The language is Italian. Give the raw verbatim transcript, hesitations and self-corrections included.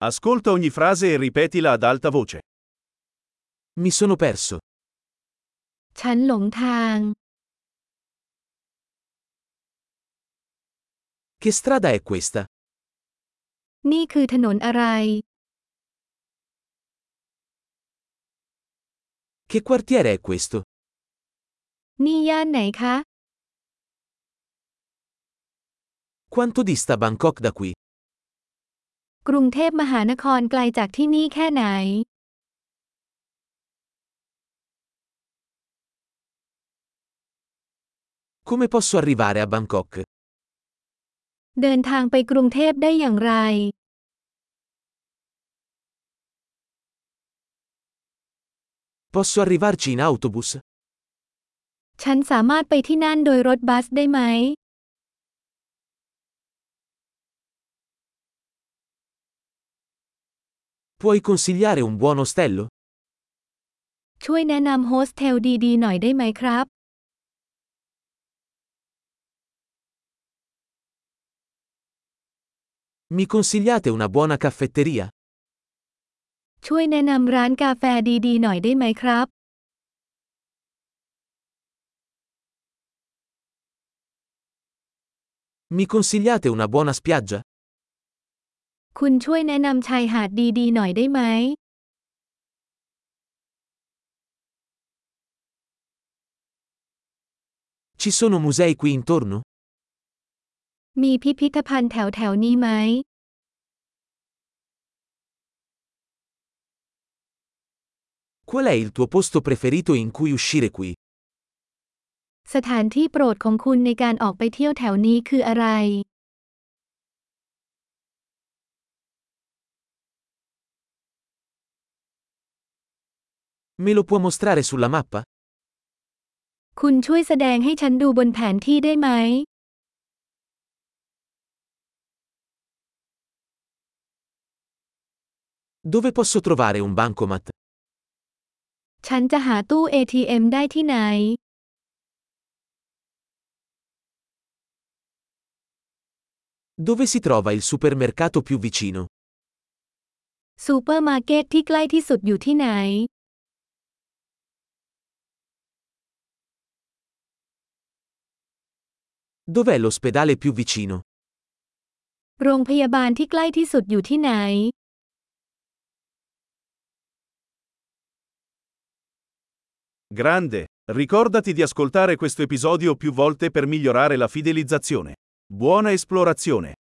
Ascolta ogni frase e ripetila ad alta voce. Mi sono perso. ฉันหลงทาง Che strada è questa? นี่คือถนนอะไร Che quartiere è questo? นี่ย่านไหนคะ Quanto dista Bangkok da qui? กรุงเทพมหานครไกลจากที่นี่แค่ไหน Come posso arrivare a Bangkok? เดินทางไปกรุงเทพได้อย่างไร Posso arrivarci in autobus? ฉันสามารถไปที่นั่นโดยรถบัสได้ไหม Puoi consigliare un buon ostello? ช่วยแนะนำโฮสเทลดีๆหน่อยได้ไหมครับ Mi consigliate una buona caffetteria? ช่วยแนะนำร้านกาแฟดีๆหน่อยได้ไหมครับ Mi consigliate una buona spiaggia? คุณช่วยแนะนำชายหาดดีๆหน่อยได้ไหม Ci sono musei qui intorno? มีพิพิธภัณฑ์แถวๆนี้ไหม Qual è il tuo posto preferito in cui uscire qui? สถานที่โปรดของคุณในการออกไปเที่ยวแถวนี้คืออะไร Me lo può mostrare sulla mappa? คุณช่วยแสดงให้ฉันดูบนแผนที่ได้ไหม Dove posso trovare un bancomat? ฉันจะหาตู้ เอ ที เอ็ม ได้ที่ไหน Dove si trova il supermercato più vicino? ซูเปอร์มาร์เก็ตที่ใกล้ที่สุดอยู่ที่ไหน Dov'è l'ospedale più vicino? โรงพยาบาลที่ใกล้ที่สุดอยู่ที่ไหน Grande! Ricordati di ascoltare questo episodio più volte per migliorare la fidelizzazione. Buona esplorazione!